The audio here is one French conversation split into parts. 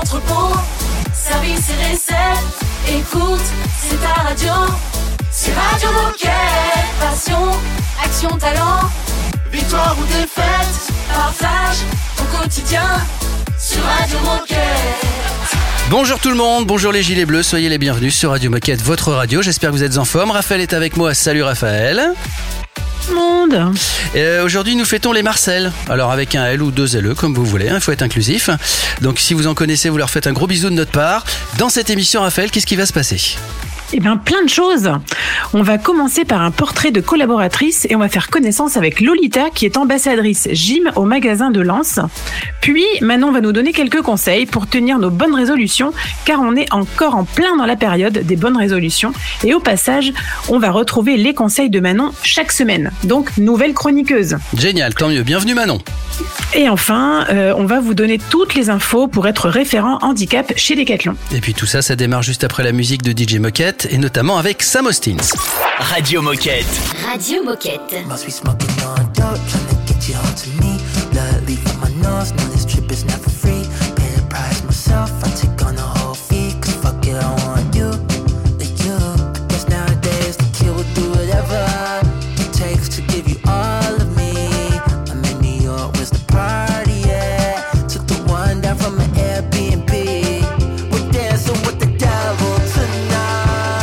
entrepôt, service et recettes. Écoute, c'est ta radio. C'est Radio Moquette. Passion, action, talent. Victoire ou défaite, partage au quotidien sur Radio Moquette. Bonjour tout le monde, bonjour les gilets bleus, soyez les bienvenus sur Radio Moquette, votre radio. J'espère que vous êtes en forme. Raphaël est avec moi, salut Raphaël. Monde. Aujourd'hui nous fêtons les Marcel, alors avec un L ou deux LE comme vous voulez, il faut être inclusif. Donc si vous en connaissez, vous leur faites un gros bisou de notre part. Dans cette émission Raphaël, qu'est-ce qui va se passer ? Eh bien, plein de choses. On va commencer par un portrait de collaboratrice et on va faire connaissance avec Lolita qui est ambassadrice gym au magasin de Lens. Puis, Manon va nous donner quelques conseils pour tenir nos bonnes résolutions car on est encore en plein dans la période des bonnes résolutions. Et au passage, on va retrouver les conseils de Manon chaque semaine. Donc, nouvelle chroniqueuse. Génial, tant mieux. Bienvenue Manon. Et enfin, on va vous donner toutes les infos pour être référent handicap chez Decathlon. Et puis tout ça, ça démarre juste après la musique de DJ Moquette et notamment avec Sam Austin. Radio Moquette. Radio Moquette. Must be smoking on dope, trying to get you onto me. Blood leaving my nose, no this trip is never free. Pay the price myself, I take on the whole fee. Cause fuck it, I want you, you. I guess nowadays the kid will do whatever it takes to give you all of me. I'm in New York, where's the party at? Took the one down from an Airbnb. We're dancing with the devil tonight.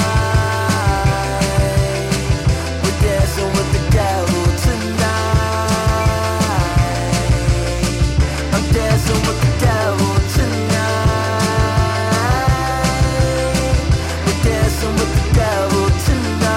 We're dancing with the devil tonight. I'm dancing with the devil tonight. We're dancing with the devil tonight.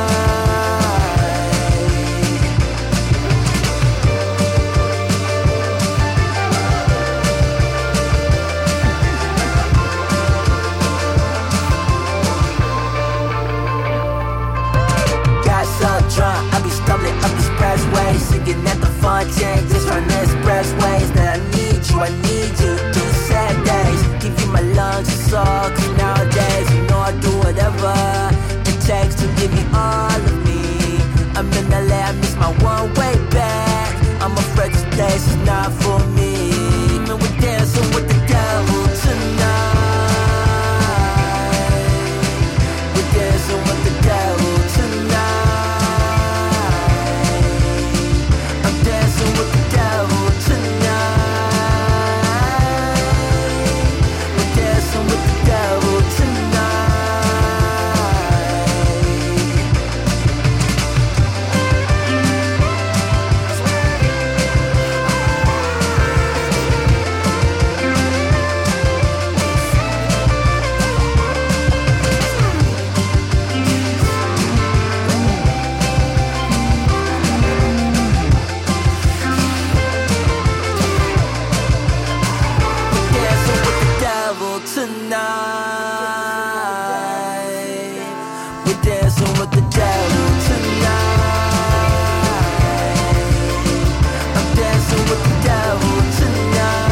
Got so drunk, I be stumbling up the expressway, singing at the fontaine, just run the expressways. That I need you through sad days. Give you my lungs and soul, cause nowadays you know I do whatever it takes to give you all of me. I'm in LA, I miss my one way back. I'm afraid this place is not for me. And we're dancing with the devil tonight. We're dancing with the devil tonight. I'm dancing with the devil tonight. We're dancing with the devil tonight. Dancing with the devil tonight. We're dancing with the devil tonight. I'm dancing with the devil tonight.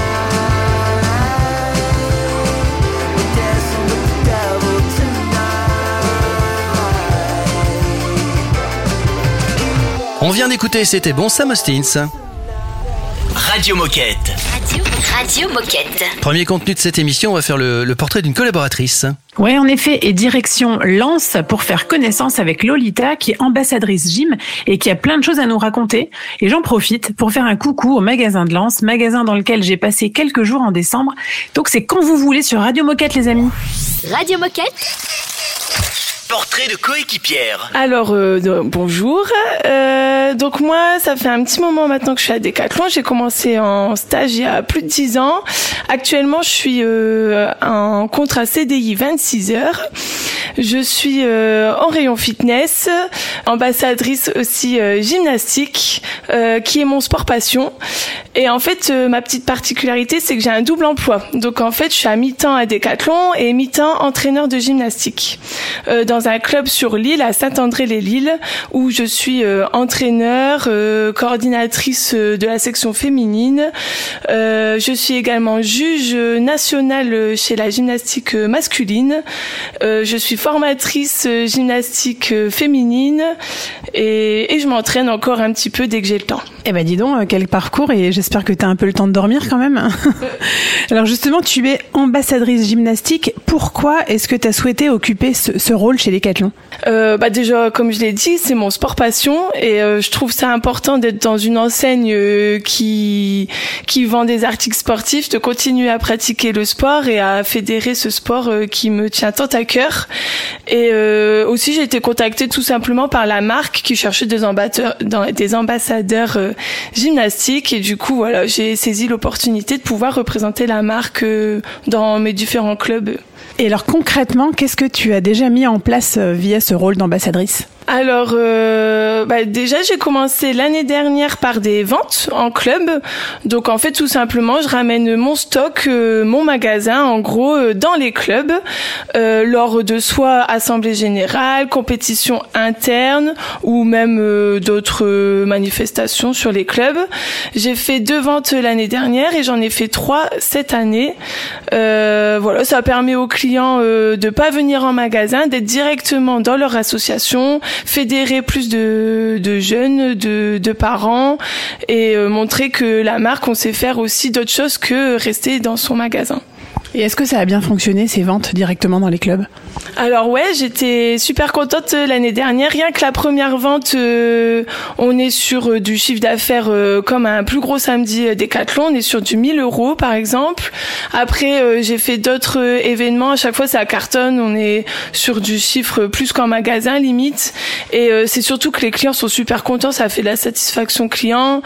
We're dancing with the devil tonight. On vient d'écouter, c'était bon, Sam Austin. Radio Moquette. Radio Moquette. Premier contenu de cette émission, on va faire le portrait d'une collaboratrice. Ouais, en effet, et direction Lens pour faire connaissance avec Lolita qui est ambassadrice gym et qui a plein de choses à nous raconter. Et j'en profite pour faire un coucou au magasin de Lens, magasin dans lequel j'ai passé quelques jours en décembre. Donc c'est quand vous voulez sur Radio Moquette les amis. Radio Moquette. Portrait de coéquipière. Alors, bonjour. Donc moi, ça fait un petit moment maintenant que je suis à Decathlon. J'ai commencé en stage il y a plus de 10 ans. Actuellement, je suis en contrat CDI 26 heures. Je suis en rayon fitness, ambassadrice aussi gymnastique, qui est mon sport passion. Et en fait, ma petite particularité, c'est que j'ai un double emploi. Donc en fait, je suis à mi-temps à Decathlon et mi-temps entraîneur de gymnastique. Dans un club sur l'île, à Saint-André-les-Lilles, où je suis entraîneur, coordinatrice de la section féminine. Je suis également juge nationale chez la gymnastique masculine. Je suis formatrice gymnastique féminine et je m'entraîne encore un petit peu dès que j'ai le temps. Eh ben dis donc, quel parcours, et j'espère que tu as un peu le temps de dormir quand même. Alors justement, tu es ambassadrice gymnastique. Pourquoi est-ce que tu as souhaité occuper ce rôle chez Decathlon ? Déjà, comme je l'ai dit, c'est mon sport passion et je trouve ça important d'être dans une enseigne qui vend des articles sportifs, de continuer à pratiquer le sport et à fédérer ce sport qui me tient tant à cœur. Et aussi, j'ai été contactée tout simplement par la marque qui cherchait des ambassadeurs gymnastiques et du coup, voilà, j'ai saisi l'opportunité de pouvoir représenter la marque dans mes différents clubs. Et alors concrètement, qu'est-ce que tu as déjà mis en place via ce rôle d'ambassadrice ? Alors, déjà, j'ai commencé l'année dernière par des ventes en club. Donc, en fait, tout simplement, je ramène mon stock, mon magasin, en gros, dans les clubs, lors de soit assemblée générale, compétition interne ou même d'autres manifestations sur les clubs. J'ai fait 2 ventes l'année dernière et j'en ai fait 3 cette année. Voilà, ça permet aux clients de pas venir en magasin, d'être directement dans leur association, fédérer plus de jeunes, de parents et montrer que la marque, on sait faire aussi d'autres choses que rester dans son magasin. Et est-ce que ça a bien fonctionné, ces ventes directement dans les clubs ? Alors ouais, j'étais super contente l'année dernière. Rien que la première vente, on est sur du chiffre d'affaires comme un plus gros samedi Decathlon. On est sur du 1 000 € par exemple. Après, j'ai fait d'autres événements. À chaque fois, ça cartonne. On est sur du chiffre plus qu'en magasin limite. Et c'est surtout que les clients sont super contents. Ça fait de la satisfaction client.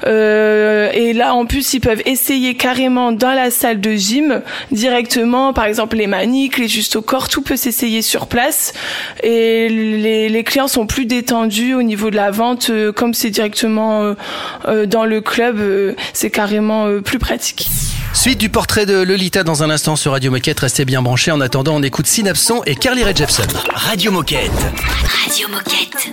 Et là, en plus, ils peuvent essayer carrément dans la salle de gym directement, par exemple les maniques, les justes au corps, tout peut s'essayer sur place et les clients sont plus détendus au niveau de la vente, comme c'est directement dans le club, c'est carrément plus pratique. Suite du portrait de Lolita dans un instant sur Radio Moquette, restez bien branchés. En attendant, on écoute Synapson et Carly Rae Jepsen. Radio Moquette. Radio Moquette.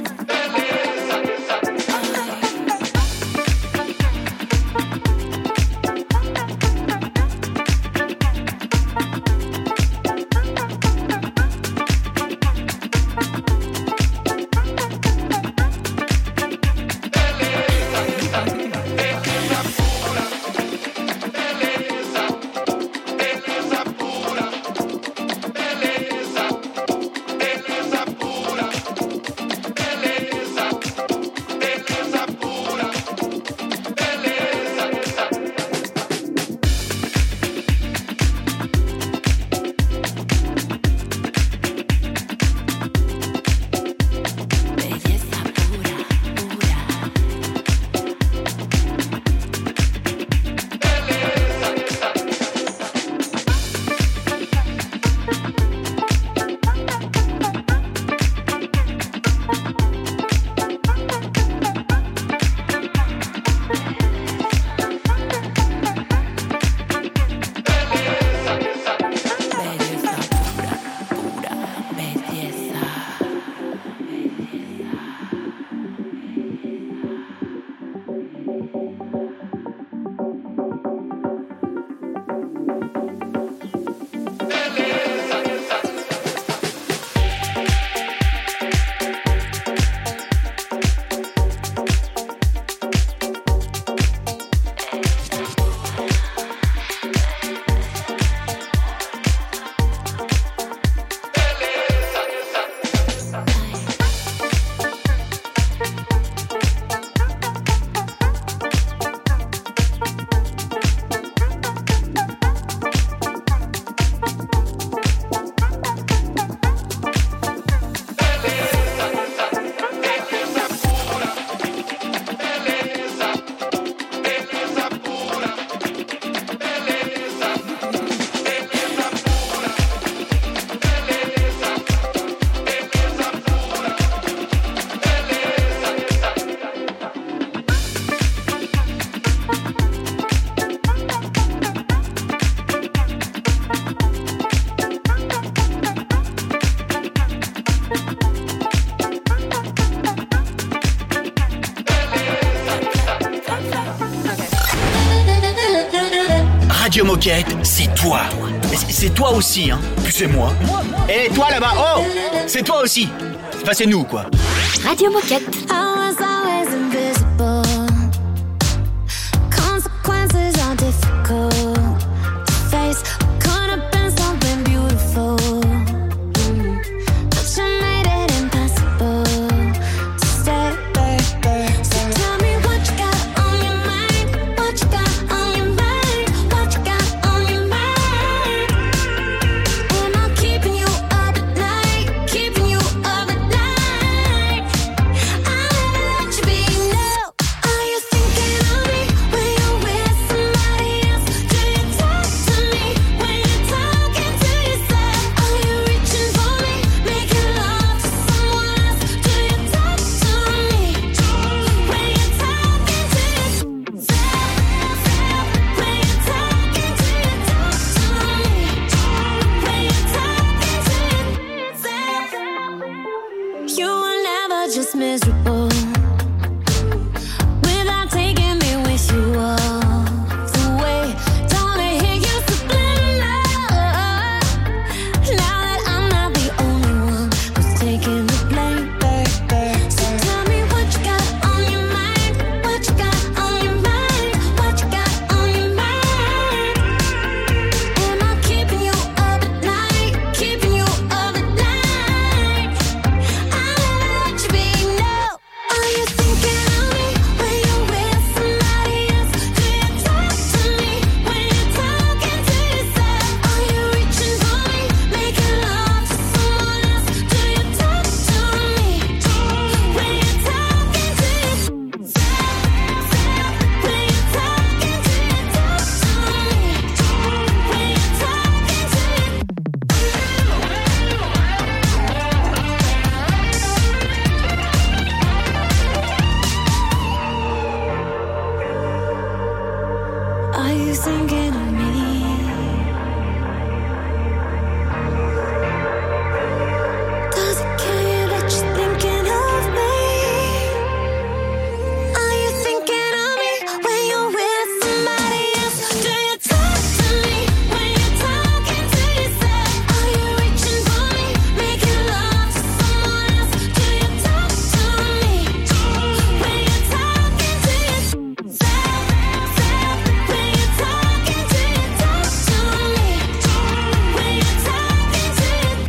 Radio Moquette, c'est toi. C'est toi aussi, hein. Puis c'est moi. Et toi là-bas, oh, c'est toi aussi. Enfin, c'est nous, quoi. Radio Moquette. I was always invisible. thinking of me? Does it kill you that you're thinking of me? Are you thinking of me when you're with somebody else? Do you talk to me when you're talking to yourself? Are you reaching for me, making love to someone else? Do you talk to me when you're talking to yourself? When you're talking to you, talk to me. When you're talking to yourself,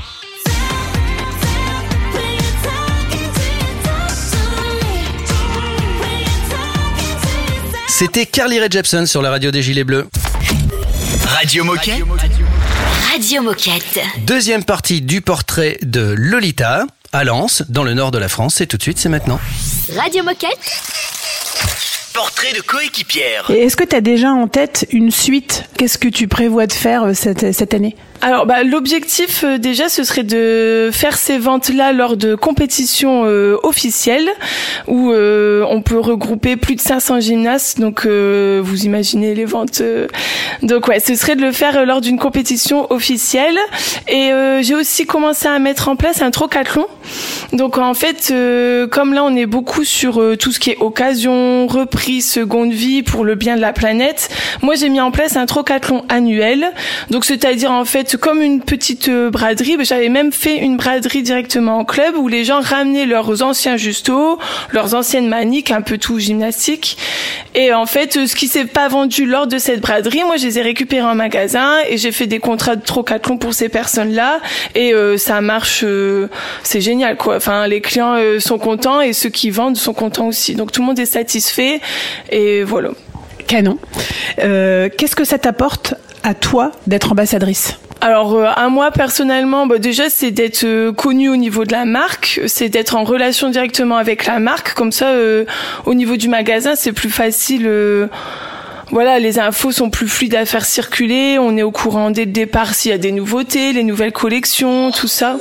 when you're talking to you, talk to me. When you're talking to yourself. C'était Carly Rae Jepsen sur la radio des Gilets Bleus. Radio Moquette. Radio Moquette. Deuxième partie du portrait de Lolita à Lens, dans le nord de la France. C'est tout de suite, c'est maintenant. Radio Moquette. Portrait de coéquipière. Et est-ce que tu as déjà en tête une suite? Qu'est-ce que tu prévois de faire cette année? Alors, l'objectif déjà, ce serait de faire ces ventes-là lors de compétitions officielles où on peut regrouper plus de 500 gymnastes. Donc, vous imaginez les ventes. Donc, ouais, ce serait de le faire lors d'une compétition officielle. Et j'ai aussi commencé à mettre en place un trocathlon. Donc, en fait, comme là, on est beaucoup sur tout ce qui est occasion, reprise, seconde vie pour le bien de la planète. Moi, j'ai mis en place un trocathlon annuel. Donc, c'est-à-dire, en fait, comme une petite braderie. J'avais même fait une braderie directement en club où les gens ramenaient leurs anciens justos, leurs anciennes maniques, un peu tout gymnastique. Et en fait, ce qui s'est pas vendu lors de cette braderie, moi, je les ai récupérés en magasin et j'ai fait des contrats de trocathlon pour ces personnes-là. Et ça marche, c'est génial, quoi. Enfin, les clients sont contents et ceux qui vendent sont contents aussi. Donc, tout le monde est satisfait et voilà. Canon. Qu'est-ce que ça t'apporte à toi d'être ambassadrice? Alors à moi personnellement, déjà c'est d'être connue au niveau de la marque, c'est d'être en relation directement avec la marque, comme ça au niveau du magasin c'est plus facile. Voilà, les infos sont plus fluides à faire circuler, on est au courant dès le départ s'il y a des nouveautés, les nouvelles collections, tout ça.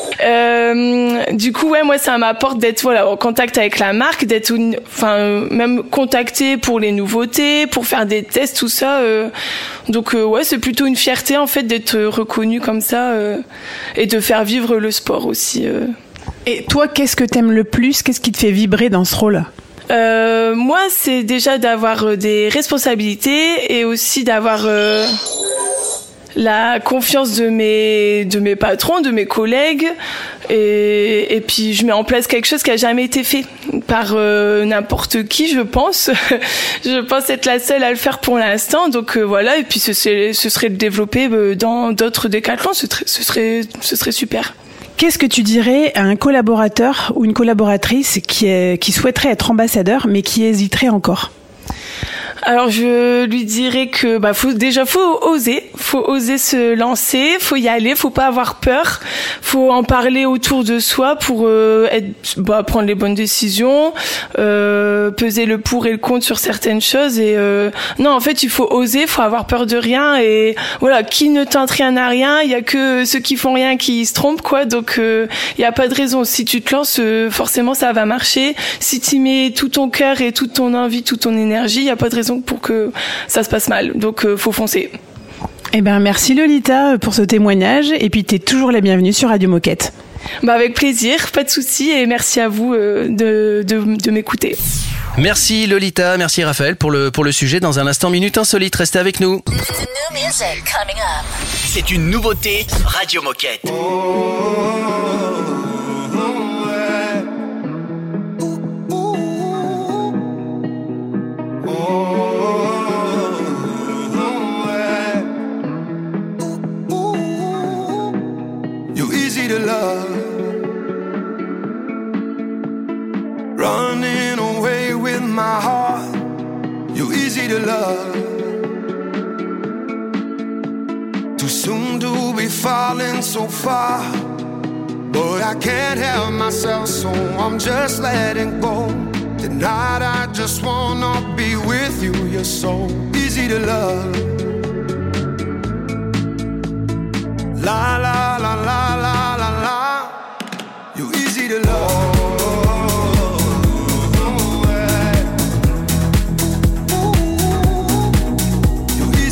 Du coup, ouais, moi, ça m'apporte d'être, en contact avec la marque, d'être, même contacté pour les nouveautés, pour faire des tests, tout ça. Donc, ouais, c'est plutôt une fierté, en fait, d'être reconnu comme ça, et de faire vivre le sport aussi. Et toi, qu'est-ce que t'aimes le plus? Qu'est-ce qui te fait vibrer dans ce rôle? Moi, c'est déjà d'avoir des responsabilités et aussi d'avoir, la confiance de mes patrons, de mes collègues, et puis je mets en place quelque chose qui a jamais été fait par n'importe qui, je pense. Je pense être la seule à le faire pour l'instant, donc voilà. Et puis ce serait de développer dans d'autres décathlons, ce serait super. Qu'est-ce que tu dirais à un collaborateur ou une collaboratrice qui souhaiterait être ambassadeur mais qui hésiterait encore? Alors je lui dirais que faut oser se lancer, faut y aller, faut pas avoir peur, faut en parler autour de soi pour prendre les bonnes décisions, peser le pour et le contre sur certaines choses et non, en fait, il faut oser, faut avoir peur de rien et voilà, qui ne tente rien n'a rien, il y a que ceux qui font rien qui se trompent quoi. Donc il y a pas de raison, si tu te lances forcément ça va marcher. Si tu mets tout ton cœur et toute ton envie, toute ton énergie, il y a pas de raison pour que ça se passe mal. Donc, faut foncer. Eh ben, merci Lolita pour ce témoignage. Et puis, t'es toujours la bienvenue sur Radio Moquette. Avec plaisir, pas de souci. Et merci à vous de m'écouter. Merci Lolita, merci Raphaël pour le sujet. Dans un instant, Minute Insolite, restez avec nous. C'est une nouveauté Radio Moquette. To love, running away with my heart. You're easy to love. Too soon to be falling so far, but I can't help myself, so I'm just letting go. Tonight I just wanna be with you. You're so easy to love. La la la la la la la. You're easy to love. You're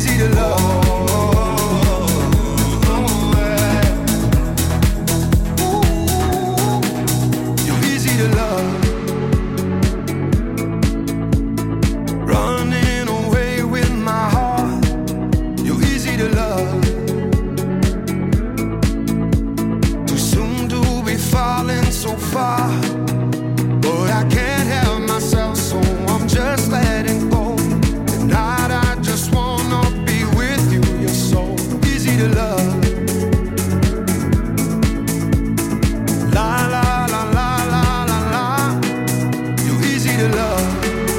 love.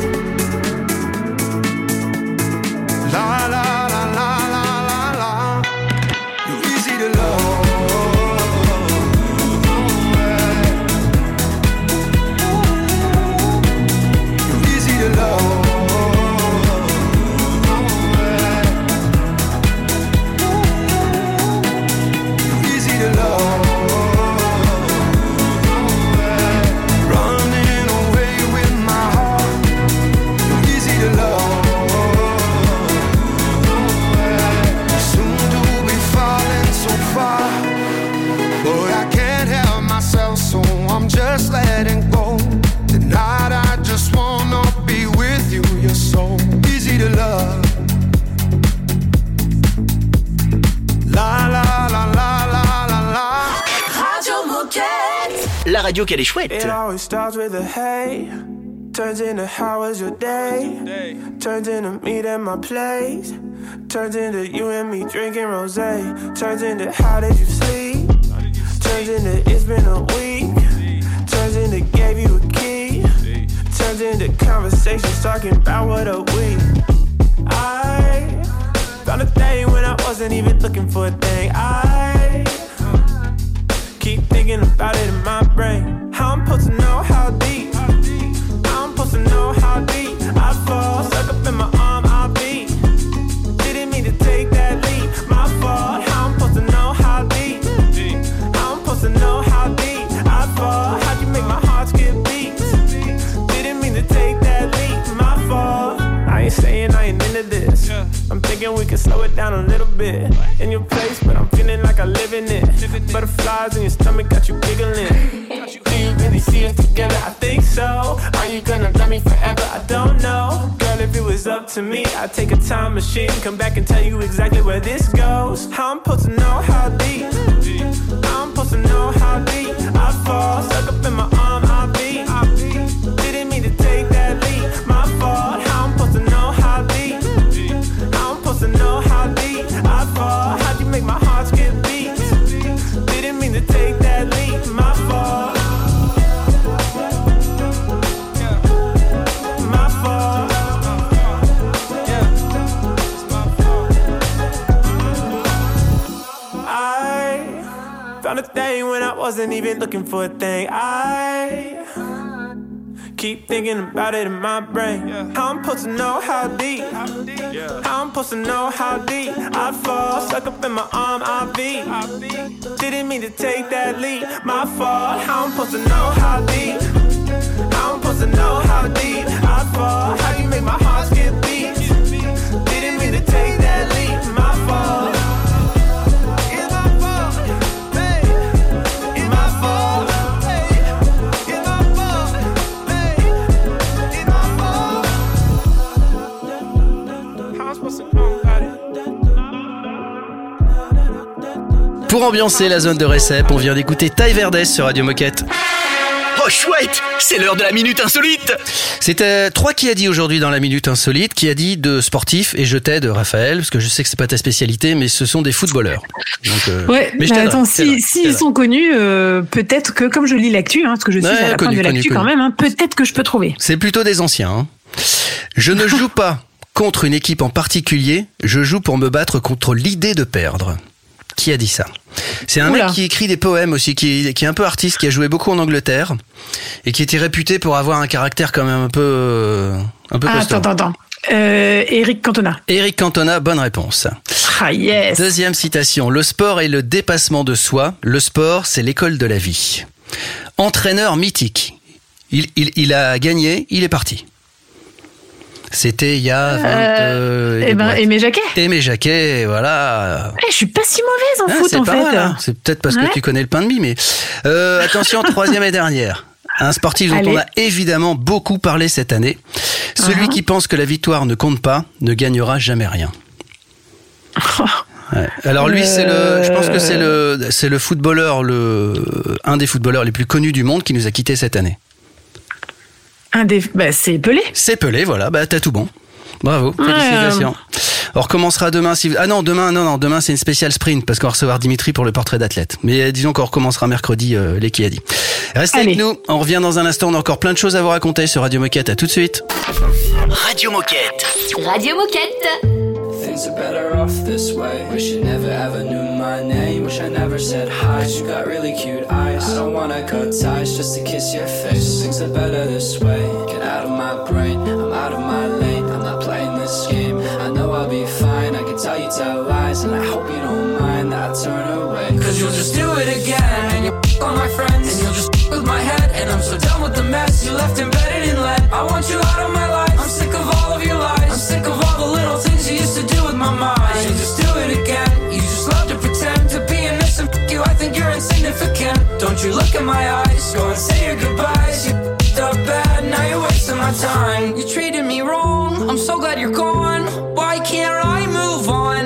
La la la la la la la. You're easy to love. You're easy to love. You're easy to love. Running away with my heart. You're easy to love. Soon to be falling so far, but I can't help myself, so I'm just letting go. Tonight I just wanna be with you. You're so easy to love. La la la la la la la. Radio Moquette. La radio qu'elle est chouette. It always starts with a hey, turns into how was your day, turns into meet at my place, turns into you and me drinking rosé, turns into how did you sleep, turns into it's been a week, turns into gave you a key, turns into conversations talking about what a week. I found a thing when I wasn't even looking for a thing. I keep thinking about it in my brain. How I'm supposed to know how deep, how I'm supposed to know how deep I fall, stuck up in my arm, I'll be. Didn't mean to take that leap, my fault. How I'm supposed to know how deep, how I'm supposed to know how deep I fall. How'd you make my heart skip beats? Didn't mean to take that leap, my fault. I ain't saying I ain't into this. I'm thinking we can slow it down a little bit. In your place, but I'm feeling like I live in it. Butterflies in your stomach got you giggling. Do you really see us together? I think so. Are you gonna love me forever? I don't know. Girl, if it was up to me, I'd take a time machine, come back and tell you exactly where this goes. How I'm supposed to know how deep, how I'm supposed to know how deep I fall, stuck up in my arm, I'll be. Didn't mean to take that leap, my fault. How I'm supposed to know how deep, how I'm supposed to know how deep I fall. How'd you make my heart skip beats? Didn't mean to take that leap, my fault. My fault. I found a thing when I wasn't even looking for a thing. I keep thinking about it in my brain. How I'm supposed to know how deep, how I'm supposed to know how deep I fall, stuck up in my arm, I'll be. Didn't mean to take that leap, my fault. How I'm supposed to know how deep, how I'm supposed to know how deep I fall. How you make my heart skip beats? Didn't mean to take that leap, my fault. It's my fault, hey. It's my fault, hey. It's my fault, hey. It's my fault. How I'm supposed to know about it? Pour ambiancer la zone de récep, on vient d'écouter Ty Verdes sur Radio Moquette. Oh chouette, c'est l'heure de la minute insolite. C'était 3 qui a dit aujourd'hui dans la minute insolite, qui a dit de sportifs, et je t'aide Raphaël, parce que je sais que c'est pas ta spécialité, mais ce sont des footballeurs. Donc, ouais, mais attends, s'ils sont connus, peut-être que, comme je lis l'actu, parce que je suis à la fin de l'actu quand même, peut-être que je peux trouver. C'est plutôt des anciens. Hein. Je ne joue pas contre une équipe en particulier, je joue pour me battre contre l'idée de perdre. Qui a dit ça? C'est un mec qui écrit des poèmes aussi, qui est un peu artiste, qui a joué beaucoup en Angleterre et qui était réputé pour avoir un caractère quand même un peu costaud. Attends. Eric Cantona. Eric Cantona, bonne réponse. Ah yes. Deuxième citation. Le sport est le dépassement de soi. Le sport, c'est l'école de la vie. Entraîneur mythique. Il a gagné, il est parti. C'était il y a 20... Aimé Jacquet. Aimé Jacquet, voilà. Je suis pas si mauvaise en foot, en fait. Mal, c'est peut-être parce que tu connais le pain de mie, mais... attention, troisième et dernière. Un sportif dont on a évidemment beaucoup parlé cette année. Celui qui pense que la victoire ne compte pas ne gagnera jamais rien. Ouais. Alors lui, je pense que c'est le footballeur, un des footballeurs les plus connus du monde qui nous a quittés cette année. C'est Pelé. C'est Pelé, voilà. T'as tout bon. Bravo, félicitations. On recommencera demain. Demain c'est une spéciale sprint parce qu'on va recevoir Dimitri pour le portrait d'athlète. Mais disons qu'on recommencera mercredi, les qui a dit. Restez avec nous. On revient dans un instant. On a encore plein de choses à vous raconter sur Radio Moquette. À tout de suite. Radio Moquette. Radio Moquette. Things are better off this way. Wish you never ever knew my name. Wish I never said hi. You got really cute eyes. I don't wanna cut ties just to kiss your face. Things are better this way. Get out of my brain. I'm out of my lane. I'm not playing this game. I know I'll be fine. I can tell you tell lies, and I hope you don't mind that I turn away. Cause you'll just do it again, and you on my friends, and you'll just with my head. And I'm so done with the mess you left embedded in lead. I want you out of my life. I'm sick of all of your lies. I'm sick of all the little things you used to do with my mind. You just do it again. You just love to pretend to be innocent. You, I think you're insignificant. Don't you look in my eyes. Go and say your goodbyes. You up bad. Now you're wasting my time. You treated me wrong. I'm so glad you're gone. Why can't I move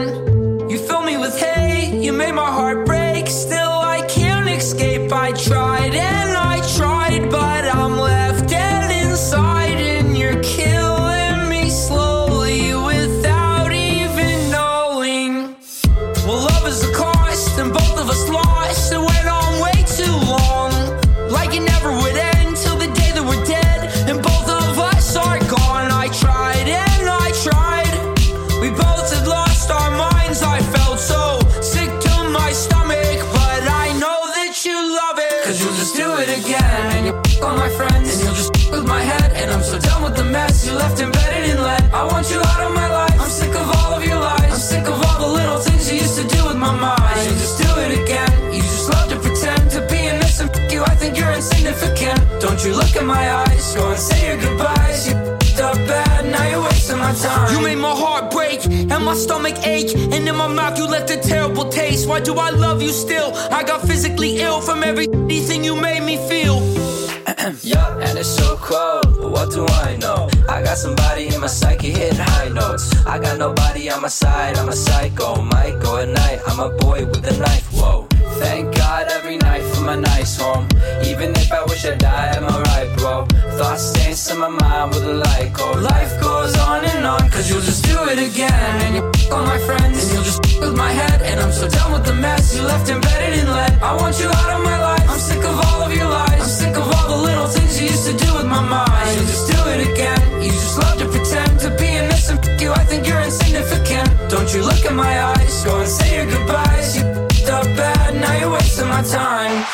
on? You fill me with hate. You made my heart break. Still I can't escape. I tried and I tried, but I'm left dead inside, and you're killing me slowly without even knowing. Well, love is the cost, and both of us lost. It went on way too long, like it never would end till the day that we're dead, and both of us are gone. I tried and I tried. We both had lost our minds. I felt so sick to my stomach, but I know that you love it. Cause you'll just do it again, and you'll on my friends, and you'll just with my head. And I'm so done with the mess you left embedded in lead. I want you out of my life. I'm sick of all of your lies. I'm sick of all the little things you used to do with my mind. You'll just do it again. You just love to pretend to be innocent. You, I think you're insignificant. Don't you look in my eyes. Go and say your goodbyes. You up bad. Now you're wasting my time. You made my heart break and my stomach ache, and in my mouth you left a terrible taste. Why do I love you still? I got physically ill from everything you made me feel. Yeah, and it's so cold, but what do I know? I got somebody in my psyche hitting high notes. I got nobody on my side, I'm a psycho. Might go at night, I'm a boy with a knife, whoa. Thank God every night for my nice home. Even if I wish I died, I'm alright, bro. Thoughts stains in my mind with a light cold. Life goes on, cause you'll just do it again. And you on my friends, and you'll just with my head. And I'm so done with the mess you left embedded in lead. I want you out of my life. I'm sick of all of your lies. I'm sick of all the little things you used to do with my mind. You'll just do it again. You just love to pretend to be innocent. You, I think you're insignificant. Don't you look in my eyes. Go and say your goodbyes. You up bad. Now you're wasting my time.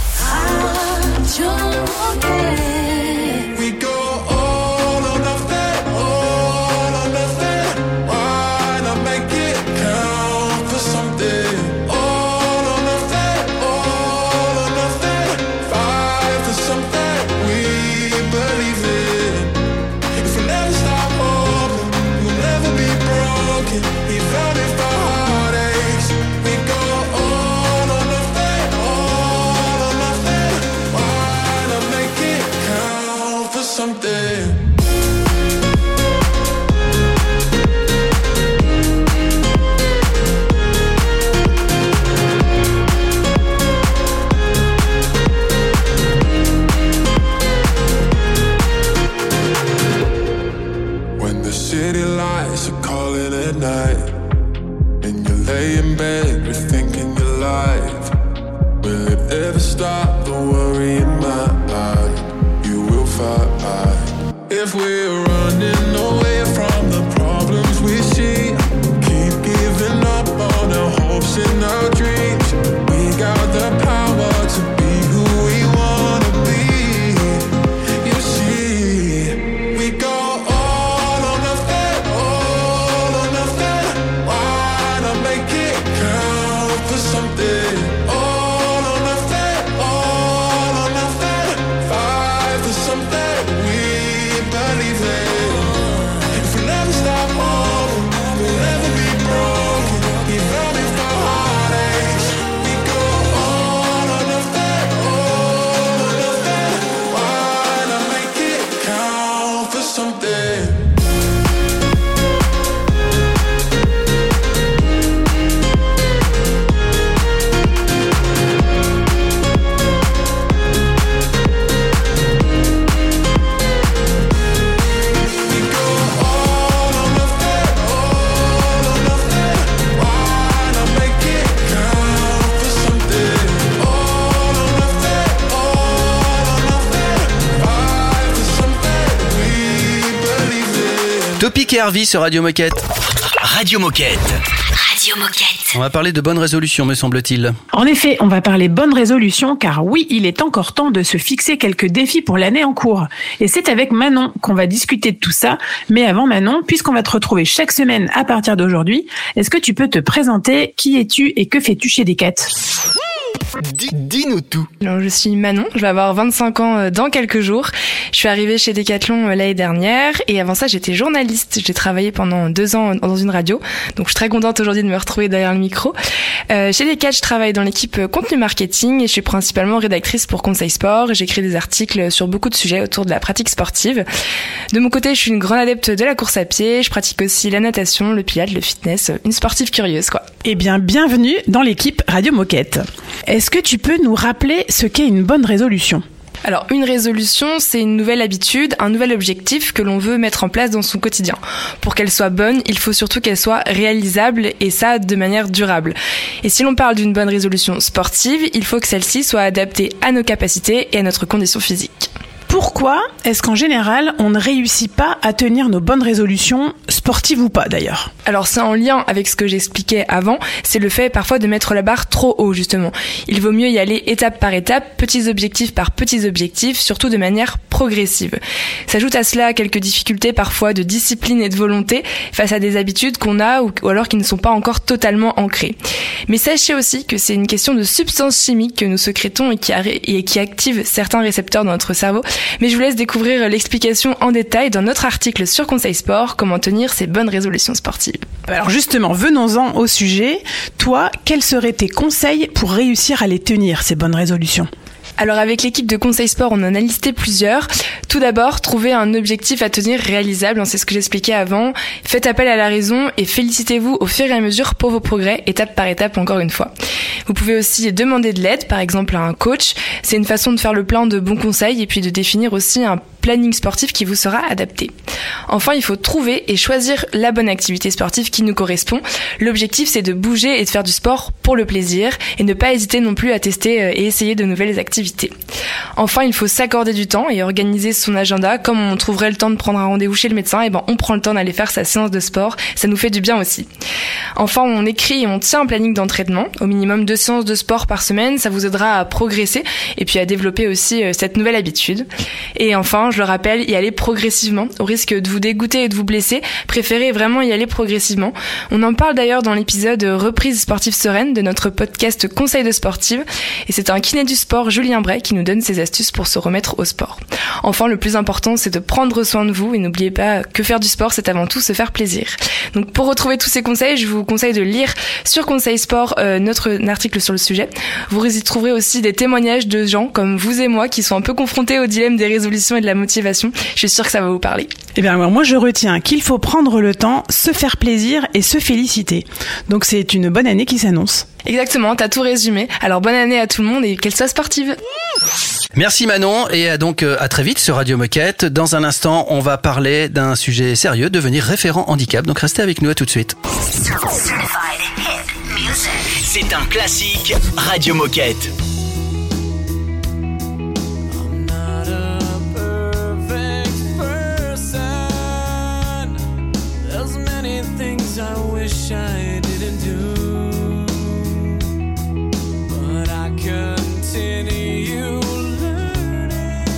We go all or nothing, all or nothing. Why not make it count for something? All or nothing, all or nothing. Fight for something we believe in. If we never stop hoping, we'll never be broken. Even if our heartaches, we go all or nothing, all or nothing. Why not make it count for something? When the city lights are calling at night, and you lay in bed rethinking your life, will it ever stop the worry in my eye? You will fight. If we're running away from the problems we see, keep giving up on our hopes and our dreams. We got the power to be who we wanna be. You see, we go all or nothing, all or nothing. Why not make it count for something? All or nothing, all or nothing. Fight for something we believe in. If we never stop hoping, we'll never be broken. Even if our heartaches, we go all or nothing, all or nothing. Why not make it count for something? We go all or nothing, all Topic et Harvey sur Radio Moquette. Radio Moquette. Radio Moquette. On va parler de bonnes résolutions, me semble-t-il. En effet, on va parler bonnes résolutions car oui, il est encore temps de se fixer quelques défis pour l'année en cours. Et c'est avec Manon qu'on va discuter de tout ça. Mais avant Manon, puisqu'on va te retrouver chaque semaine à partir d'aujourd'hui, est-ce que tu peux te présenter? Qui es-tu et que fais-tu chez Decat? Dis-nous tout. Alors, je suis Manon, je vais avoir 25 ans dans quelques jours. Je suis arrivée chez Decathlon l'année dernière et avant ça j'étais journaliste. J'ai travaillé pendant 2 ans dans une radio, donc je suis très contente aujourd'hui de me retrouver derrière le micro. Chez Decat, je travaille dans l'équipe contenu marketing et je suis principalement rédactrice pour Conseil Sport. J'écris des articles sur beaucoup de sujets autour de la pratique sportive. De mon côté, je suis une grande adepte de la course à pied. Je pratique aussi la natation, le pilates, le fitness, une sportive curieuse quoi. Eh bien, bienvenue dans l'équipe Radio Moquette. Est-ce que tu peux nous rappeler ce qu'est une bonne résolution ? Alors, une résolution, c'est une nouvelle habitude, un nouvel objectif que l'on veut mettre en place dans son quotidien. Pour qu'elle soit bonne, il faut surtout qu'elle soit réalisable et ça de manière durable. Et si l'on parle d'une bonne résolution sportive, il faut que celle-ci soit adaptée à nos capacités et à notre condition physique. Pourquoi est-ce qu'en général, on ne réussit pas à tenir nos bonnes résolutions, sportives ou pas d'ailleurs ? Alors c'est en lien avec ce que j'expliquais avant, c'est le fait parfois de mettre la barre trop haut justement. Il vaut mieux y aller étape par étape, petits objectifs par petits objectifs, surtout de manière progressive. S'ajoute à cela quelques difficultés parfois de discipline et de volonté face à des habitudes qu'on a ou alors qui ne sont pas encore totalement ancrées. Mais sachez aussi que c'est une question de substances chimiques que nous sécrétons et qui activent certains récepteurs dans notre cerveau. Mais je vous laisse découvrir l'explication en détail dans notre article sur Conseil Sport, comment tenir ces bonnes résolutions sportives. Alors justement, venons-en au sujet. Toi, quels seraient tes conseils pour réussir à les tenir, ces bonnes résolutions ? Alors avec l'équipe de Conseil Sport, on en a listé plusieurs. Tout d'abord, trouver un objectif à tenir réalisable, c'est ce que j'expliquais avant. Faites appel à la raison et félicitez-vous au fur et à mesure pour vos progrès, étape par étape encore une fois. Vous pouvez aussi demander de l'aide, par exemple à un coach. C'est une façon de faire le plein de bons conseils et puis de définir aussi un planning sportif qui vous sera adapté. Enfin, il faut trouver et choisir la bonne activité sportive qui nous correspond. L'objectif, c'est de bouger et de faire du sport pour le plaisir et ne pas hésiter non plus à tester et essayer de nouvelles activités. Enfin, il faut s'accorder du temps et organiser son agenda. Comme on trouverait le temps de prendre un rendez-vous chez le médecin, et on prend le temps d'aller faire sa séance de sport. Ça nous fait du bien aussi. Enfin, on écrit et on tient un planning d'entraînement. Au minimum 2 séances de sport par semaine. Ça vous aidera à progresser et puis à développer aussi cette nouvelle habitude. Et enfin, je le rappelle, y aller progressivement. Au risque de vous dégoûter et de vous blesser, préférez vraiment y aller progressivement. On en parle d'ailleurs dans l'épisode Reprise sportive sereine de notre podcast Conseil de sportive. Et c'est un kiné du sport, Julien Bray, qui nous donne ses astuces pour se remettre au sport. Enfin, le plus important, c'est de prendre soin de vous et n'oubliez pas que faire du sport, c'est avant tout se faire plaisir. Donc pour retrouver tous ces conseils, je vous conseille de lire sur Conseil Sport notre article sur le sujet. Vous y trouverez aussi des témoignages de gens comme vous et moi qui sont un peu confrontés au dilemme des résolutions et de la motivation. Je suis sûre que ça va vous parler. Eh bien, moi, je retiens qu'il faut prendre le temps, se faire plaisir et se féliciter. Donc, c'est une bonne année qui s'annonce. Exactement, t'as tout résumé. Alors, bonne année à tout le monde et qu'elle soit sportive. Merci Manon et donc à très vite sur Radio Moquette. Dans un instant, on va parler d'un sujet sérieux, devenir référent handicap. Donc, restez avec nous, à tout de suite. C'est un classique Radio Moquette. I didn't do, but I continue learning.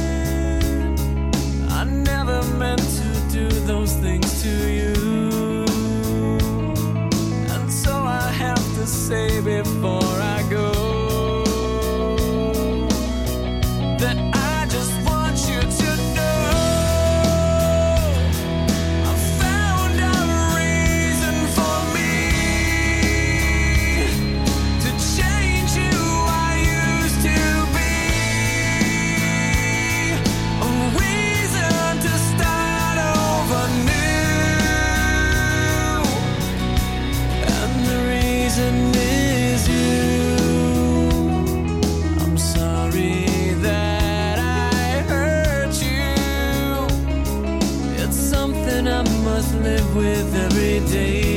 I never meant to do those things to you, and so I have to say before I go that I just want you to know I found a reason for change who I used to be, a reason to start over new, and the reason is you. I'm sorry that I hurt you. It's something I must live with every day.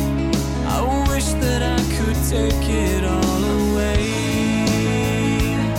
Take it all away.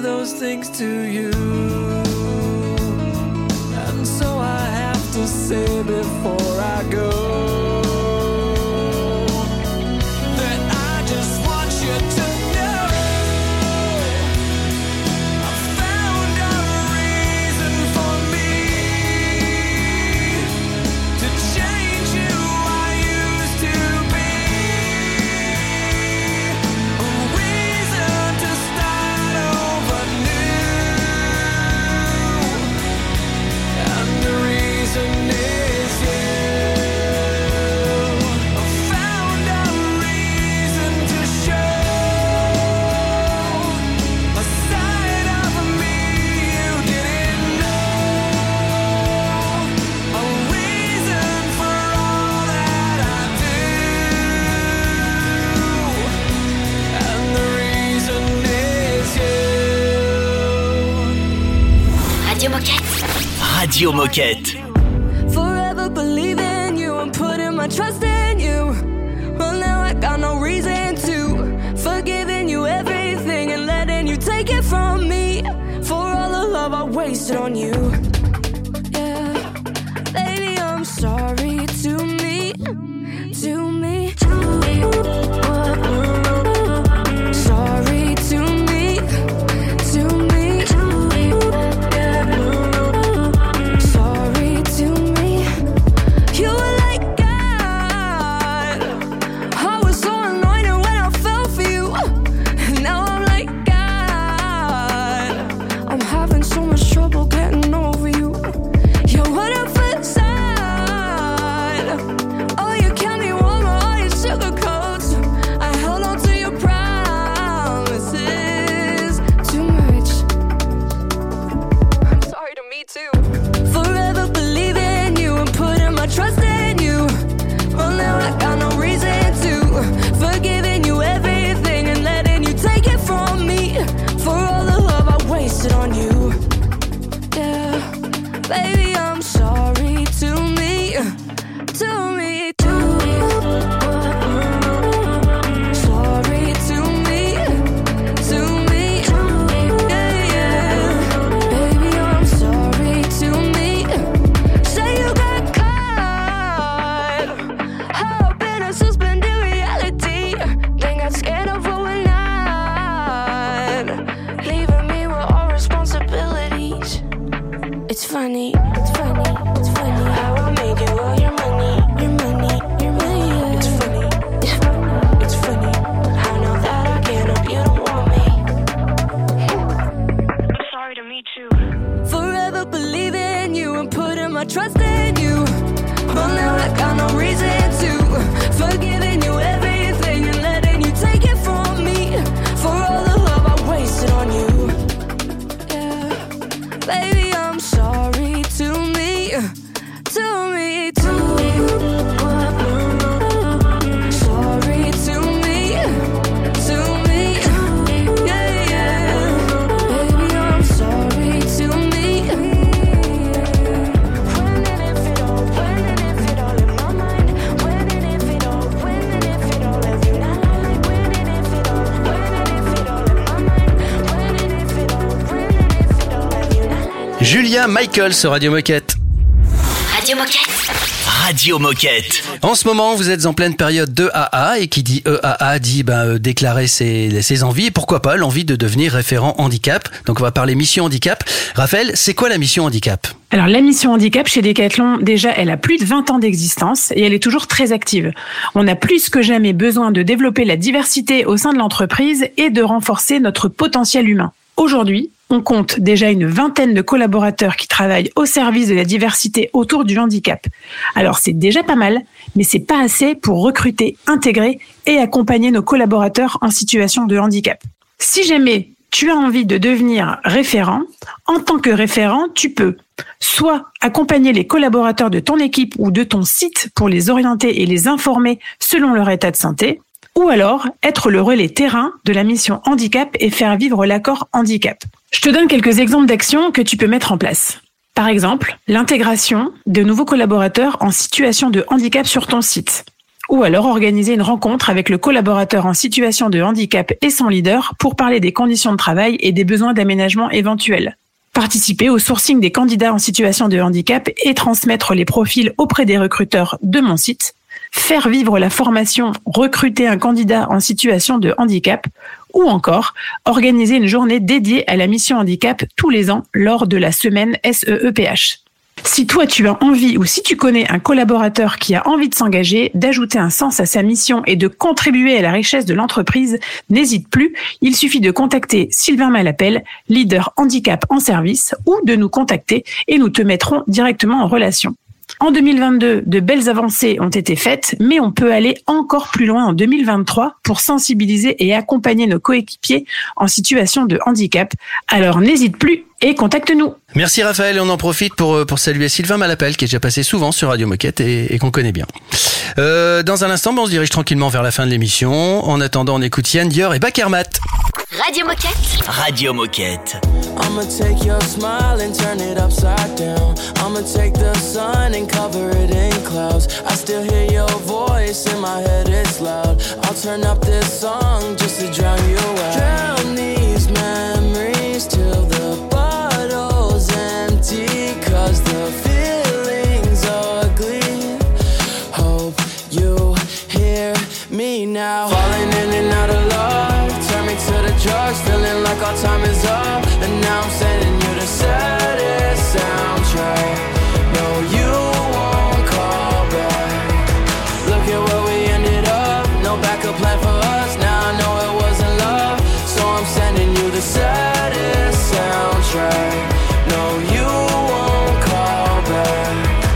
do those things to you. And so I have to say before I go that I just want you to know I found a reason for me to change who I used to be. A reason to start over new. And the reason is you. I found a reason to show a side of me you didn't know. A reason for all that I do. And the reason is you. Radio Moquette. Radio Moquette. Forever believing you and putting my trust in you. Well, now I got no reason to. Forgiving you everything and letting you take it from me. For all the love I wasted on you. Yeah, baby, I'm sorry to me. To me. Sorry to me. To me. Sorry to me. You were like God. I was so anointed when I fell for you. Now I'm like God. I'm having so much trouble getting over you. You're what I feel inside. Oh, you kept me warm, all your sugar coats. I held on to your promises too much. I'm sorry to me too. Forever believing you and putting my trust in you. Well, now I got no reason to. Forgiving you everything and letting you take it from me. For all the love I wasted on you. Yeah, baby, I'm sorry to me. To me, to me. Sorry to me. To me. Yeah, yeah. Baby, I'm sorry to me. Say you got caught up in a suspended reality. Then got scared of going on, leaving me with all responsibilities. It's funny, it's funny, it's funny how I made you all your money, your money, your money. Yeah. It's funny, it's funny, it's funny. I know that I can't help you don't want me. I'm sorry to me too. Forever believing you and putting my trust in you. Well, now I got no reason to. Forgiving you everything and letting you take it from me. For all the love I wasted on you. Yeah, baby, I'm sorry to me. To me, to me. Sorry to me. To me. Yeah, yeah. Baby, I'm sorry to me. When and if it all, when and if it all in my mind. When and if it all, when and if it all if you not like. When and if it all, when and if it all in my mind. When and if it all, when and if it all if you not like. Julia Michael sur Radio Moquette. Radio Moquette. Radio Moquette. En ce moment, vous êtes en pleine période de AA et qui dit EAA dit déclarer ses envies et pourquoi pas l'envie de devenir référent handicap. Donc on va parler mission handicap. Raphaël, c'est quoi la mission handicap ? Alors la mission handicap chez Decathlon, déjà elle a plus de 20 ans d'existence et elle est toujours très active. On a plus que jamais besoin de développer la diversité au sein de l'entreprise et de renforcer notre potentiel humain. Aujourd'hui, on compte déjà une vingtaine de collaborateurs qui travaillent au service de la diversité autour du handicap. Alors c'est déjà pas mal, mais c'est pas assez pour recruter, intégrer et accompagner nos collaborateurs en situation de handicap. Si jamais tu as envie de devenir référent, en tant que référent, tu peux soit accompagner les collaborateurs de ton équipe ou de ton site pour les orienter et les informer selon leur état de santé, ou alors être le relais terrain de la mission handicap et faire vivre l'accord handicap. Je te donne quelques exemples d'actions que tu peux mettre en place. Par exemple, l'intégration de nouveaux collaborateurs en situation de handicap sur ton site. Ou alors organiser une rencontre avec le collaborateur en situation de handicap et son leader pour parler des conditions de travail et des besoins d'aménagement éventuels. Participer au sourcing des candidats en situation de handicap et transmettre les profils auprès des recruteurs de mon site. Faire vivre la formation « Recruter un candidat en situation de handicap » ou encore organiser une journée dédiée à la mission handicap tous les ans lors de la semaine SEEPH. Si toi tu as envie ou si tu connais un collaborateur qui a envie de s'engager, d'ajouter un sens à sa mission et de contribuer à la richesse de l'entreprise, n'hésite plus, il suffit de contacter Sylvain Malapelle, leader handicap en service, ou de nous contacter et nous te mettrons directement en relation. En 2022, de belles avancées ont été faites, mais on peut aller encore plus loin en 2023 pour sensibiliser et accompagner nos coéquipiers en situation de handicap. Alors n'hésite plus et contacte-nous. Merci Raphaël, et on en profite pour saluer Sylvain Malapelle qui est déjà passé souvent sur Radio Moquette et qu'on connaît bien. Dans un instant, on se dirige tranquillement vers la fin de l'émission. En attendant, on écoute Yann Dior et Bakermat. Radio Moquette. Radio Moquette. I'ma take your smile and turn it upside down. I'ma take the sun and cover it in clouds. I still hear your voice in my head, it's loud. I'll turn up this song just to drown you out. Drown these memories till the bottle's empty, 'cause the feeling's ugly. Hope you hear me now. Falling in and out of love, turn me to the drugs, feeling like our time is up. And now I'm sending you the saddest soundtrack. No, you won't call back. Look at where we ended up, no backup plan for us. Now I know it wasn't love, so I'm sending you the saddest soundtrack. No, you won't call back.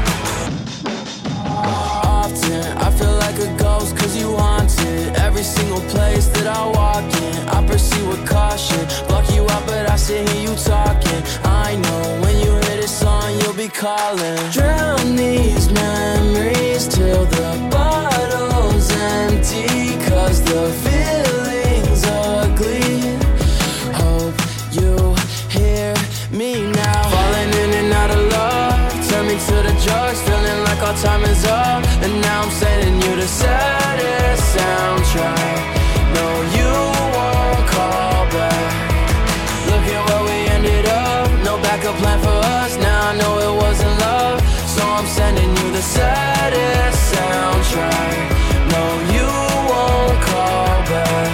Often I feel like a ghost 'cause you haunted every single place that I walk in. I pursue with caution, block you out but I still hear you talking. I know when you hear this song you'll be calling. Drown these memories till the bottle's empty, 'cause the feeling's ugly. Hope you hear me now. Falling in and out of love, turn me to the drugs, feeling like our time is up. And now I'm sending you the saddest soundtrack. No, you won't call back. Look at where we ended up, no backup plan for us. Now I know it wasn't love, so I'm sending you the saddest soundtrack. No, you won't call back.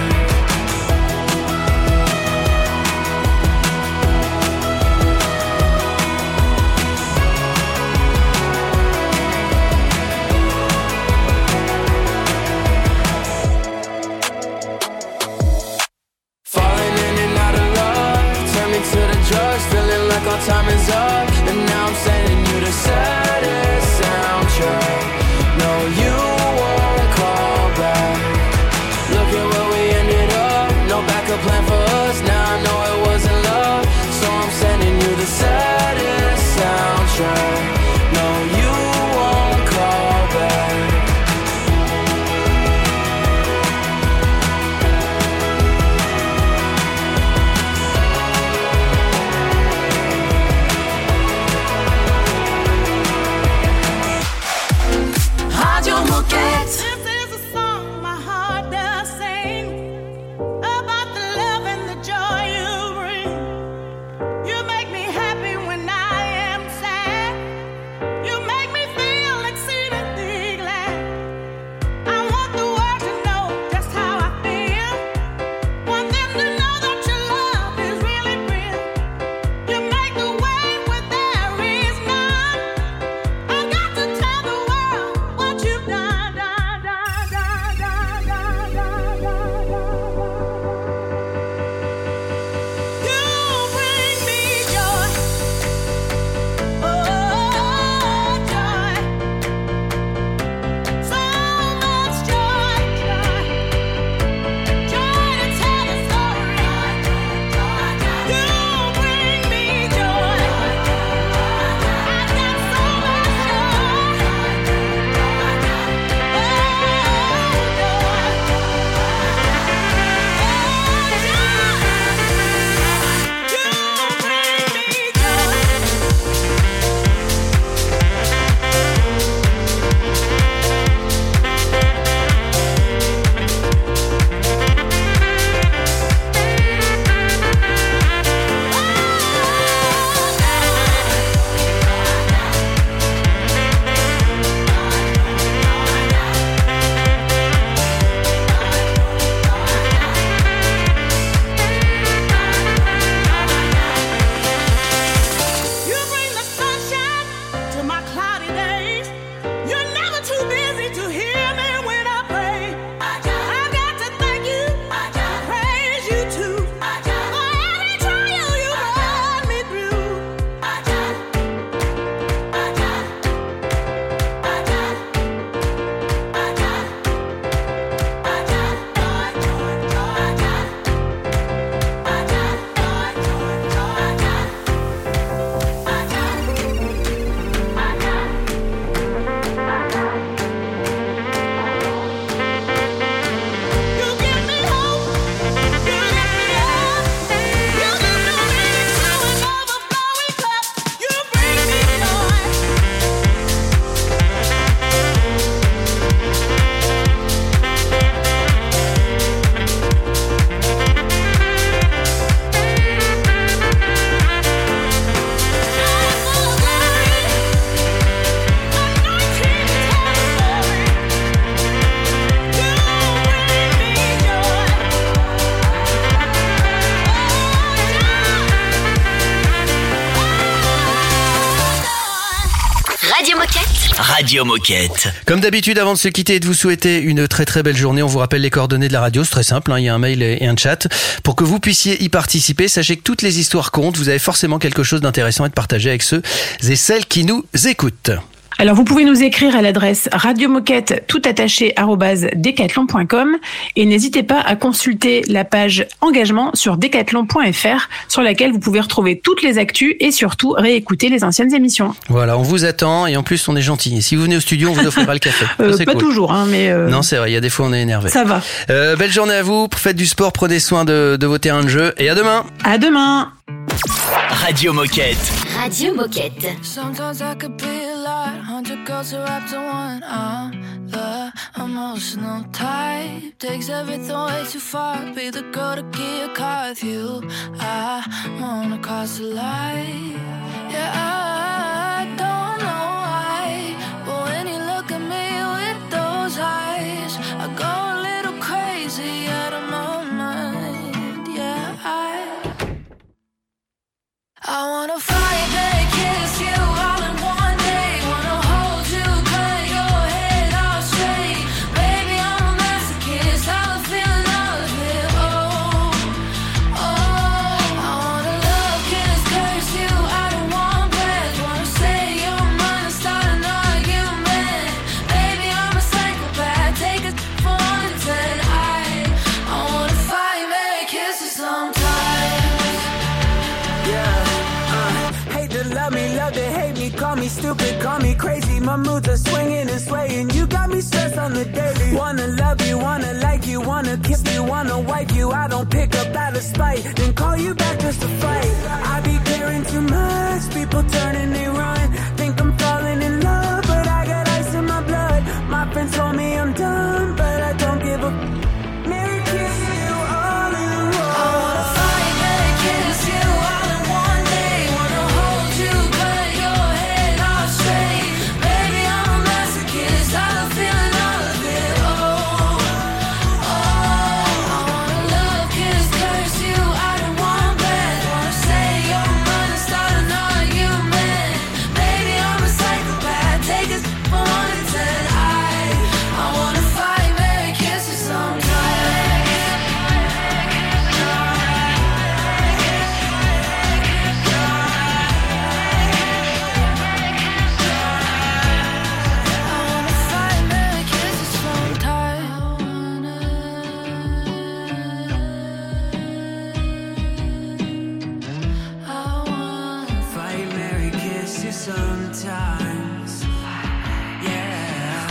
Radio Moquette. Comme d'habitude, avant de se quitter et de vous souhaiter une très très belle journée, on vous rappelle les coordonnées de la radio. C'est très simple, il y a un mail et un chat. Pour que vous puissiez y participer, sachez que toutes les histoires comptent. Vous avez forcément quelque chose d'intéressant à partager avec ceux et celles qui nous écoutent. Alors, vous pouvez nous écrire à l'adresse radiomoquette @decathlon.com et n'hésitez pas à consulter la page engagement sur decathlon.fr sur laquelle vous pouvez retrouver toutes les actus et surtout réécouter les anciennes émissions. Voilà, on vous attend et en plus on est gentil. Et si vous venez au studio, on vous offrira le café. Pas cool. Toujours, mais... Non, c'est vrai, il y a des fois on est énervé. Ça va. Belle journée à vous, faites du sport, prenez soin de vos terrains de jeu et à demain. À demain. Radio Moquette. Radio Moquette. Sometimes I could be a lot, 100 girls wrapped in one. I'm the emotional type, takes everything way too far. Be the girl to get a car with you. I wanna cross the line. Yeah, I don't know why, but when you look at me with those eyes, I go a little crazy out of my mind. Yeah, I wanna fight, baby, kiss you all in one day. Wanna hold you, cut your head off straight. Baby, I'm a masochist, I'm feeling all of it. Oh, oh. I wanna love, kiss, curse you out in one breath. Wanna say your mind and start an argument. Baby, I'm a psychopath, take it for 1 to 10. I wanna fight, baby, kiss you sometimes. Love me, love to hate me, call me stupid, call me crazy. My moods are swinging and swaying. You got me stressed on the daily. Wanna love you, wanna like you, wanna kiss you, wanna wipe you. I don't pick up out of spite, then call you back just to fight. I be caring too much, people turn and they run. Think I'm falling in love, but I got ice in my blood. My friends told me I'm dumb, but I don't give a Mary kiss you all in one. I wanna fight, Mary kiss you all in one day. Wanna hold you, cut your head off straight. Baby, I'm a masochist, I'm feeling all of it. Oh, oh. I wanna love, kiss, curse you out in one breath. Wanna say your mind and start an argument. Baby, I'm a psychopath, take it from 1 to 10. I wanna fight, Mary kiss you sometimes. Fight, Mary, kiss you sometimes. Yeah.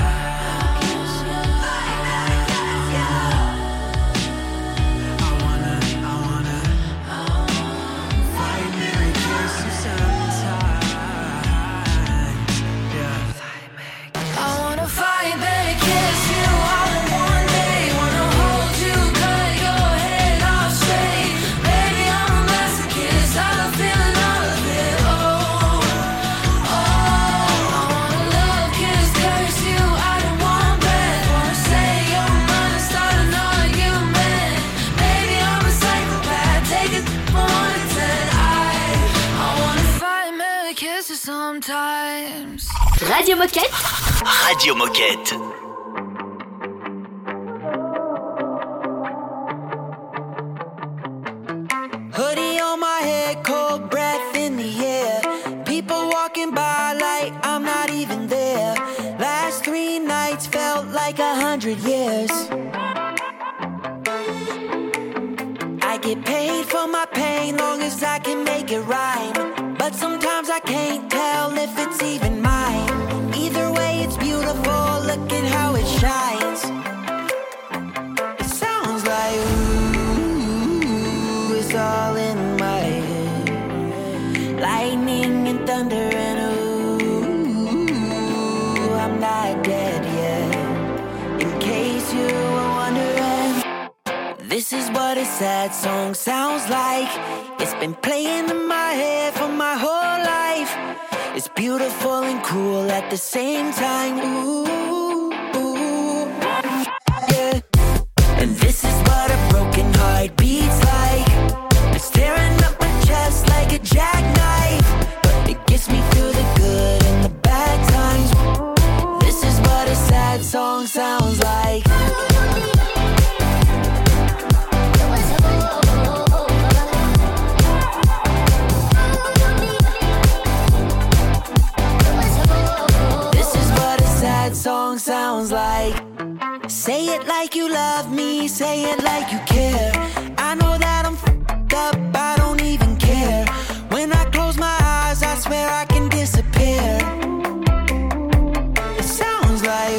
I wanna fight, Mary, kiss you sometimes. Yeah. I wanna fight, baby, kiss you all in one day. Wanna hold you, cut your head off straight. Baby, I'm a masochist, I'm feeling all of it. Oh, oh. I wanna love, kiss, curse you out in one breath. Wanna say your mind and start an argument. Baby, I'm a psychopath, take it from 1 to 10. I wanna fight, Mary, kiss you sometimes. Radio Moquette. Radio Moquette. Hoodie on my head, cold breath in the air. People walking by like I'm not even there. Last 3 nights felt like 100 years. I get paid for my pain, long as I can make it rhyme. But sometimes I can't tell if it's even mine. Either way, it's beautiful, look at how it shines. It sounds like ooh, it's all in my head. Lightning and thunder and ooh, I'm not dead yet. In case you were wondering, this is what a sad song sounds like. It's been playing in my head for my whole life. It's beautiful and cruel at the same time. Ooh, ooh, yeah. And this is what a broken heart beats like. It's tearing up my chest like a jackknife, but it gets me through the good and the bad times. sounds like. This is what a sad song sounds like. Say it like you love me, say it like you care. I know that I'm f***ed up, I don't even care. When I close my eyes, I swear I can disappear. It sounds like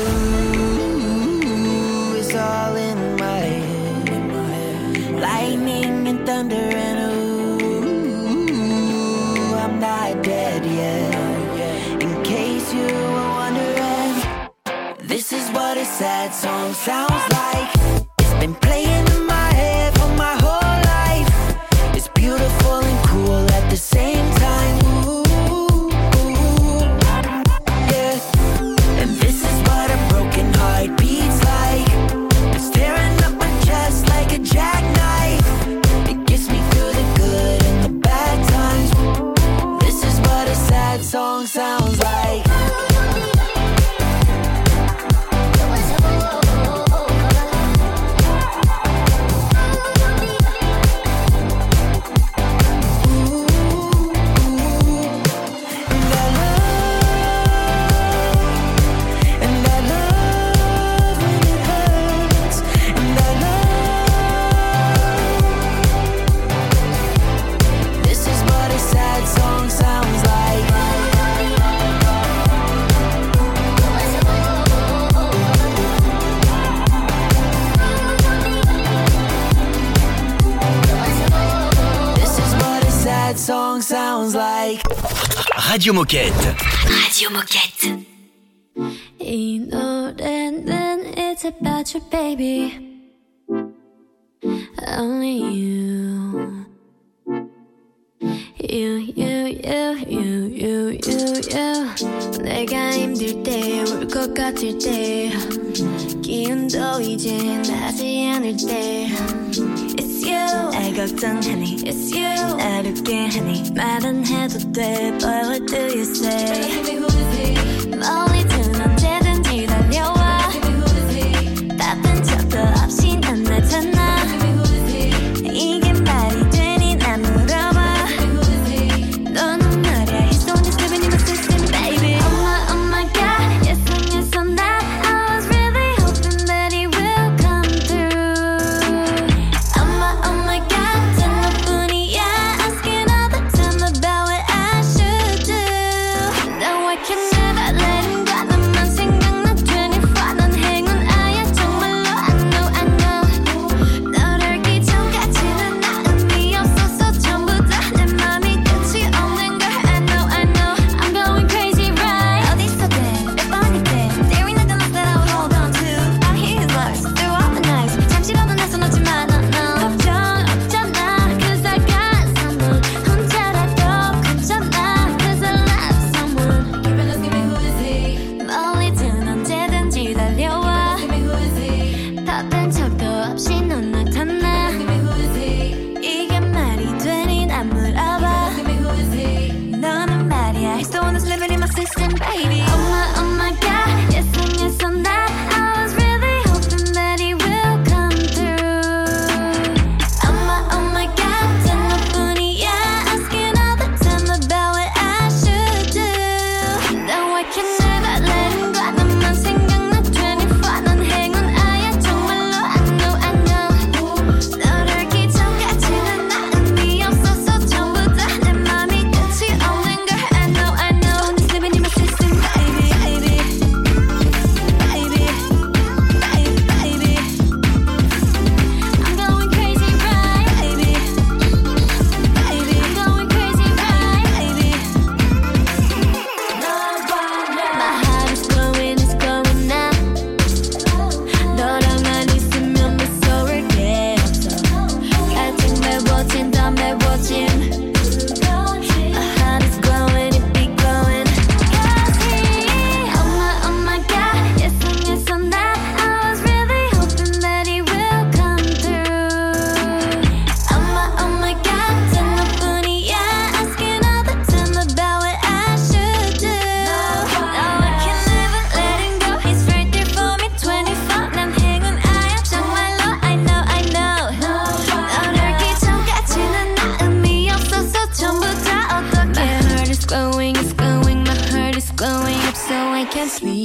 ooh, it's all in my head. Lightning and thunder and ooh, I'm not dead yet. In case you were wondering, this is what a sad song sounds like. It's been playing in my head for my whole life. It's beautiful and cool at the same time. Ooh, yeah. And this is what a broken heart beats like. It's tearing up my chest like a jackknife. It gets me through the good and the bad times. This is what a sad song sounds like. Song sounds like. Radio Moquette. Radio Moquette. 이 노래는 it's about you, baby. Only you. You. 내가 힘들 때, 울 것 같을 때, 기운도 이제 나지 않을 때. It's you. 날 걱정하니. It's you. 날 웃게 하니. 말은 해도 돼, but what do you say? 멀리든 언제든지 달려와. 바쁜 척도 없이 난 나타나. 이게 말이 되니 난 물어봐. 너는 말야, he's the one that's living in my system, baby. Oh my God, yes and that. I was really hoping that he will come through. Oh my God, 단 너뿐이야. Asking all the time about what I should do. No, I can never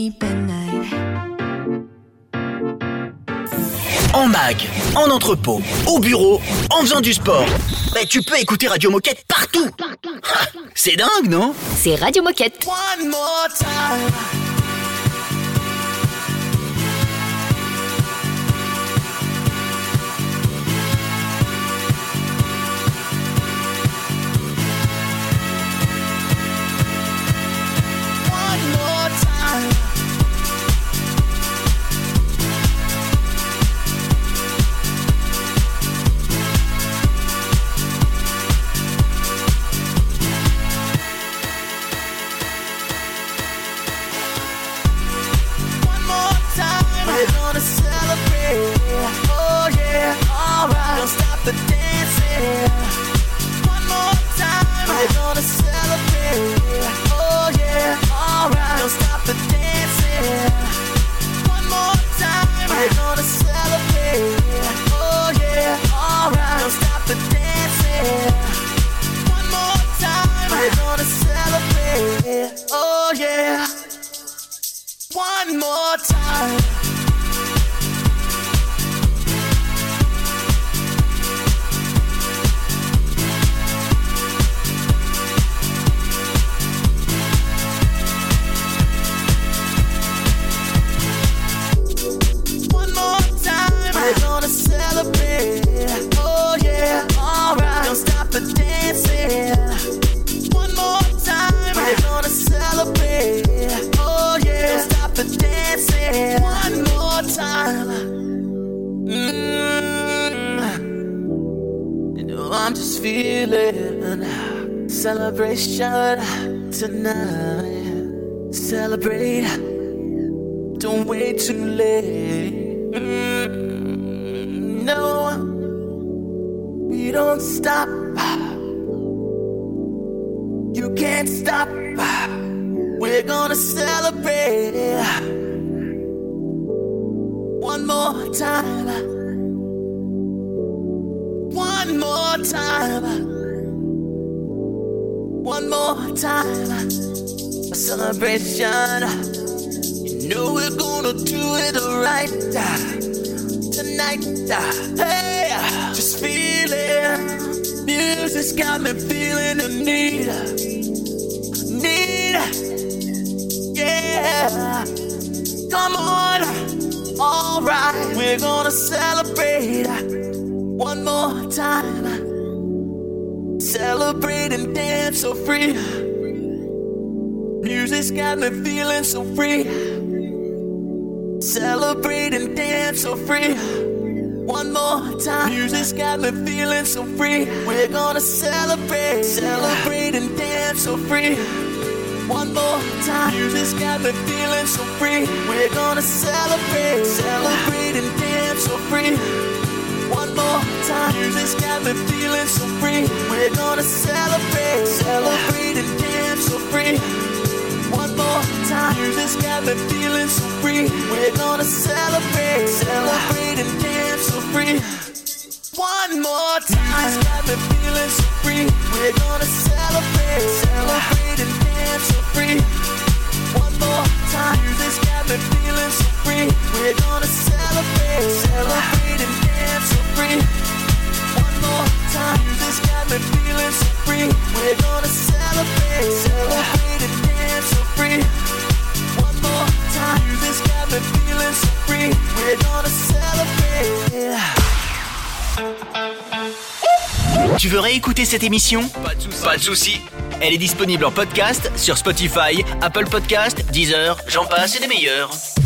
sleep at night. En mag, en entrepôt, au bureau, en faisant du sport. Tu peux écouter Radio Moquette partout. C'est dingue, non? C'est Radio Moquette. One more time. The dancing. One more time, we're gonna celebrate. Oh yeah, alright. Don't stop the dancing. One more time, we're gonna celebrate. Oh yeah, alright. Don't stop the dancing. One more time, we're gonna celebrate. Oh yeah. One more time. We're gonna celebrate. Oh yeah, alright. Don't stop the dancing. One more time. We're gonna celebrate. Oh yeah, don't stop the dancing. One more time. You know I'm just feeling celebration tonight. Celebrate. Don't wait too late. No, we don't stop. You can't stop. We're gonna celebrate. One more time. One more time. One more time. A celebration. You know we're gonna do it right tonight. Hey, just feeling. Music's got me feeling the need. Yeah. Come on. Alright, we're gonna celebrate one more time. Celebrate and dance so free. Music's got me feeling so free. Celebrate and dance so free. One more time. Music's got me feeling so free. We're gonna celebrate. Celebrate and dance so free. One more time. Music's got me feeling so free. We're gonna celebrate. Celebrate and dance so free. One more time. Music's got me feeling so free. We're gonna celebrate. Celebrate and dance so free. One more time. Music's got me feeling so free. We're gonna celebrate. Celebrate and dance so free. One more time. Music's got me feeling so free. We're gonna celebrate. Celebrate and dance so free. One more time. Music's got me feeling so free. We're gonna celebrate. Celebrate and dance so free. One more time. Music's got me feeling so free. We're gonna celebrate. Celebrate and dance so free. One more time. Music's got me feeling so free. We're gonna celebrate. Tu veux réécouter cette émission? Pas de souci. Elle est disponible en podcast sur Spotify, Apple Podcast, Deezer, j'en passe et des meilleurs.